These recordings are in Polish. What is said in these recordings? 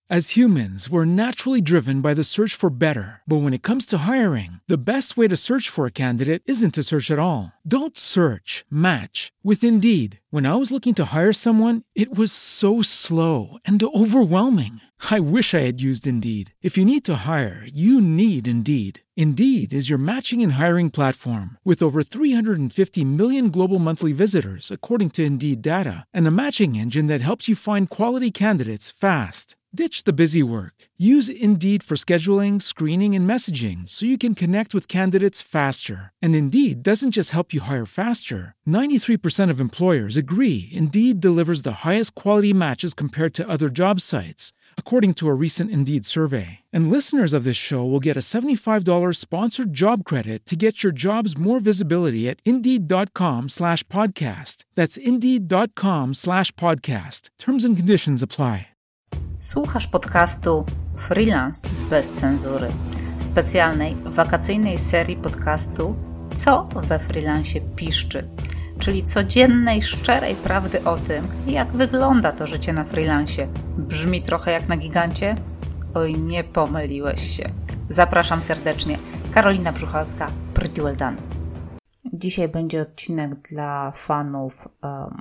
As humans, we're naturally driven by the search for better. But when it comes to hiring, the best way to search for a candidate isn't to search at all. Don't search, match with Indeed. When I was looking to hire someone, it was so slow and overwhelming. I wish I had used Indeed. If you need to hire, you need Indeed. Indeed is your matching and hiring platform with over 350 million global monthly visitors, according to Indeed data, and a matching engine that helps you find quality candidates fast. Ditch the busy work. Use Indeed for scheduling, screening, and messaging so you can connect with candidates faster. And Indeed doesn't just help you hire faster. 93% of employers agree Indeed delivers the highest quality matches compared to other job sites, according to a recent Indeed survey. And listeners of this show will get a $75 sponsored job credit to get your jobs more visibility at Indeed.com/podcast. That's Indeed.com/podcast. Terms and conditions apply. Słuchasz podcastu Freelance bez cenzury, specjalnej wakacyjnej serii podcastu Co we freelancie piszczy, czyli codziennej, szczerej prawdy o tym, jak wygląda to życie na freelancie. Brzmi trochę jak na gigancie? Oj, nie pomyliłeś się. Zapraszam serdecznie. Karolina Brzuchalska, Pretty Well Done. Dzisiaj będzie odcinek dla fanów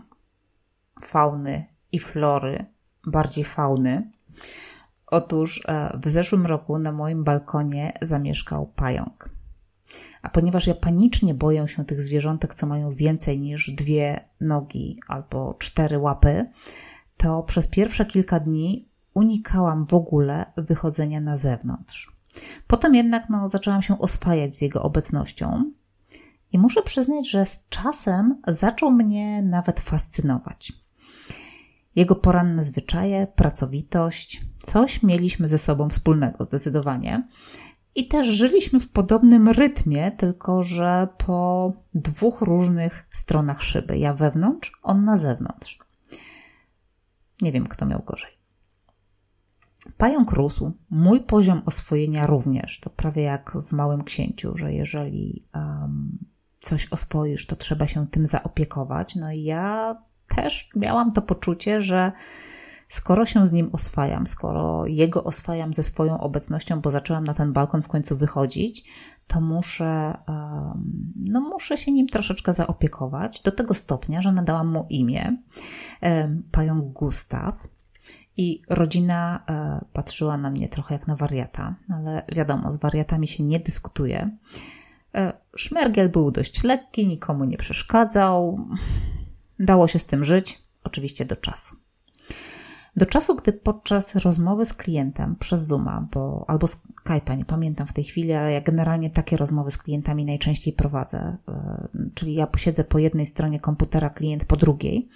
fauny i flory, bardziej fauny. Otóż w zeszłym roku na moim balkonie zamieszkał pająk. A ponieważ ja panicznie boję się tych zwierzątek, co mają więcej niż 2 nogi albo 4 łapy, to przez pierwsze kilka dni unikałam w ogóle wychodzenia na zewnątrz. Potem jednak zaczęłam się oswajać z jego obecnością i muszę przyznać, że z czasem zaczął mnie nawet fascynować. Jego poranne zwyczaje, pracowitość, coś mieliśmy ze sobą wspólnego zdecydowanie. I też żyliśmy w podobnym rytmie, tylko że po 2 różnych stronach szyby. Ja wewnątrz, on na zewnątrz. Nie wiem, kto miał gorzej. Pająk rósł, mój poziom oswojenia również. To prawie jak w Małym Księciu, że jeżeli coś oswoisz, to trzeba się tym zaopiekować. No i ja też miałam to poczucie, że skoro się z nim oswajam, skoro jego oswajam ze swoją obecnością, bo zaczęłam na ten balkon w końcu wychodzić, to muszę się nim troszeczkę zaopiekować do tego stopnia, że nadałam mu imię, pająk Gustaw. I rodzina patrzyła na mnie trochę jak na wariata, ale wiadomo, z wariatami się nie dyskutuje. Szmergiel był dość lekki, nikomu nie przeszkadzał. Dało się z tym żyć, oczywiście do czasu. Do czasu, gdy podczas rozmowy z klientem przez Zooma albo Skype'a, nie pamiętam w tej chwili, ale ja generalnie takie rozmowy z klientami najczęściej prowadzę, czyli ja siedzę po jednej stronie komputera, klient po drugiej.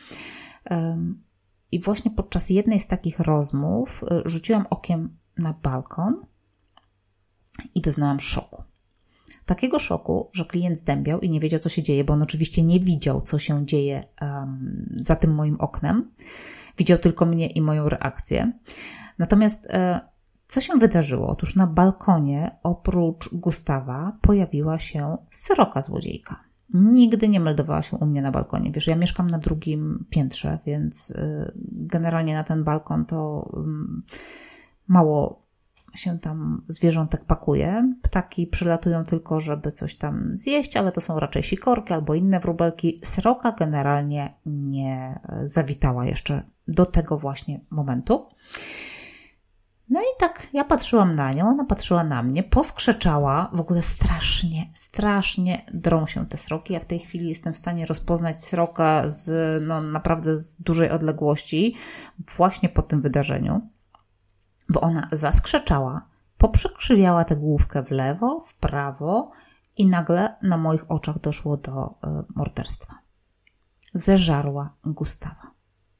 I właśnie podczas jednej z takich rozmów rzuciłam okiem na balkon i doznałam szoku. Takiego szoku, że klient zdębiał i nie wiedział, co się dzieje, bo on oczywiście nie widział, co się dzieje za tym moim oknem. Widział tylko mnie i moją reakcję. Natomiast co się wydarzyło? Otóż na balkonie oprócz Gustawa pojawiła się sroka złodziejka. Nigdy nie meldowała się u mnie na balkonie. Wiesz, ja mieszkam na 2. piętrze, więc generalnie na ten balkon to mało się tam zwierzątek pakuje. Ptaki przylatują tylko, żeby coś tam zjeść, ale to są raczej sikorki albo inne wróbelki. Sroka generalnie nie zawitała jeszcze do tego właśnie momentu. No i tak ja patrzyłam na nią, ona patrzyła na mnie, poskrzeczała, w ogóle strasznie drą się te sroki. Ja w tej chwili jestem w stanie rozpoznać sroka naprawdę z dużej odległości właśnie po tym wydarzeniu, bo ona zaskrzeczała, poprzekrzywiała tę główkę w lewo, w prawo i nagle na moich oczach doszło do morderstwa. Zeżarła Gustawa.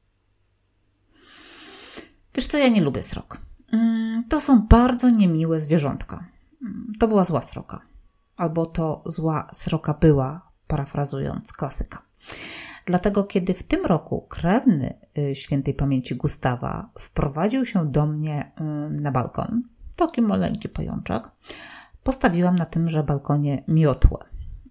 Wiesz co, ja nie lubię srok. To są bardzo niemiłe zwierzątka. To była zła sroka. Albo to zła sroka była, parafrazując klasyka. Dlatego kiedy w tym roku krewny świętej pamięci Gustawa wprowadził się do mnie na balkon, taki maleńki pajączek, postawiłam na tymże balkonie miotłę.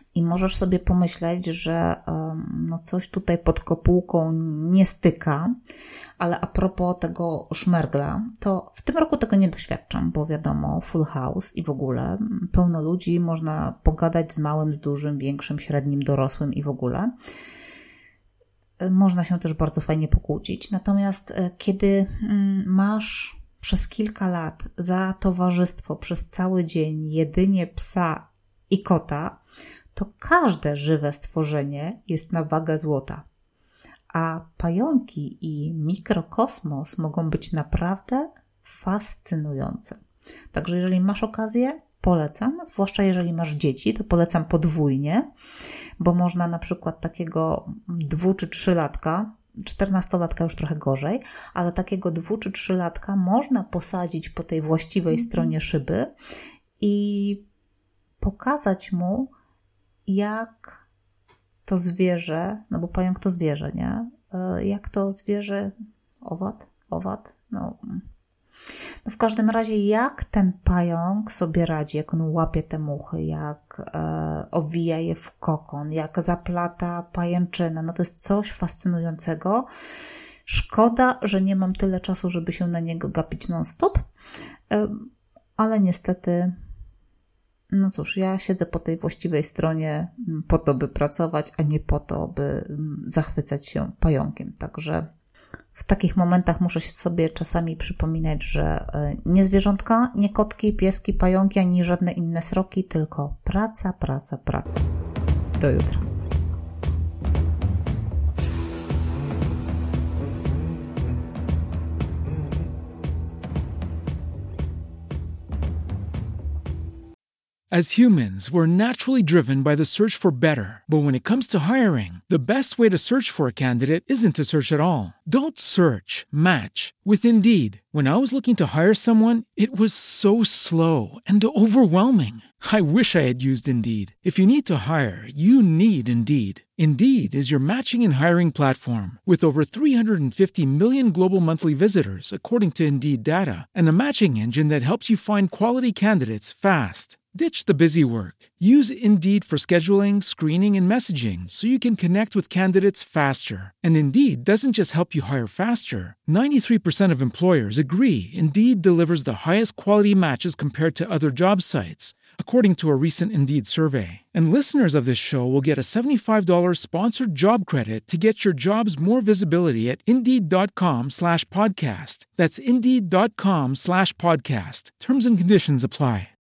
I możesz sobie pomyśleć, że coś tutaj pod kopułką nie styka, ale a propos tego szmergla, to w tym roku tego nie doświadczam, bo wiadomo, full house i w ogóle pełno ludzi, można pogadać z małym, z dużym, większym, średnim, dorosłym i w ogóle. Można się też bardzo fajnie pokłócić. Natomiast kiedy masz przez kilka lat za towarzystwo przez cały dzień jedynie psa i kota, to każde żywe stworzenie jest na wagę złota. A pająki i mikrokosmos mogą być naprawdę fascynujące. Także jeżeli masz okazję, polecam, zwłaszcza jeżeli masz dzieci, to polecam podwójnie, bo można na przykład takiego 2- czy 3-latka, 14-latka już trochę gorzej, ale takiego 2- czy 3-latka można posadzić po tej właściwej stronie szyby i pokazać mu, jak to zwierzę, no bo pająk to zwierzę, nie? Jak to zwierzę, owad, no w każdym razie jak ten pająk sobie radzi, jak on łapie te muchy, jak owija je w kokon, jak zaplata pajęczynę, no to jest coś fascynującego. Szkoda, że nie mam tyle czasu, żeby się na niego gapić non-stop, ale niestety, no cóż, ja siedzę po tej właściwej stronie po to, by pracować, a nie po to, by zachwycać się pająkiem. Także w takich momentach muszę sobie czasami przypominać, że nie zwierzątka, nie kotki, pieski, pająki, ani żadne inne sroki, tylko praca. Do jutra. As humans, we're naturally driven by the search for better. But when it comes to hiring, the best way to search for a candidate isn't to search at all. Don't search, match with Indeed. When I was looking to hire someone, it was so slow and overwhelming. I wish I had used Indeed. If you need to hire, you need Indeed. Indeed is your matching and hiring platform with over 350 million global monthly visitors, according to Indeed data, and a matching engine that helps you find quality candidates fast. Ditch the busy work. Use Indeed for scheduling, screening, and messaging so you can connect with candidates faster. And Indeed doesn't just help you hire faster. 93% of employers agree Indeed delivers the highest quality matches compared to other job sites, according to a recent Indeed survey. And listeners of this show will get a $75 sponsored job credit to get your jobs more visibility at Indeed.com/podcast. That's Indeed.com/podcast. Terms and conditions apply.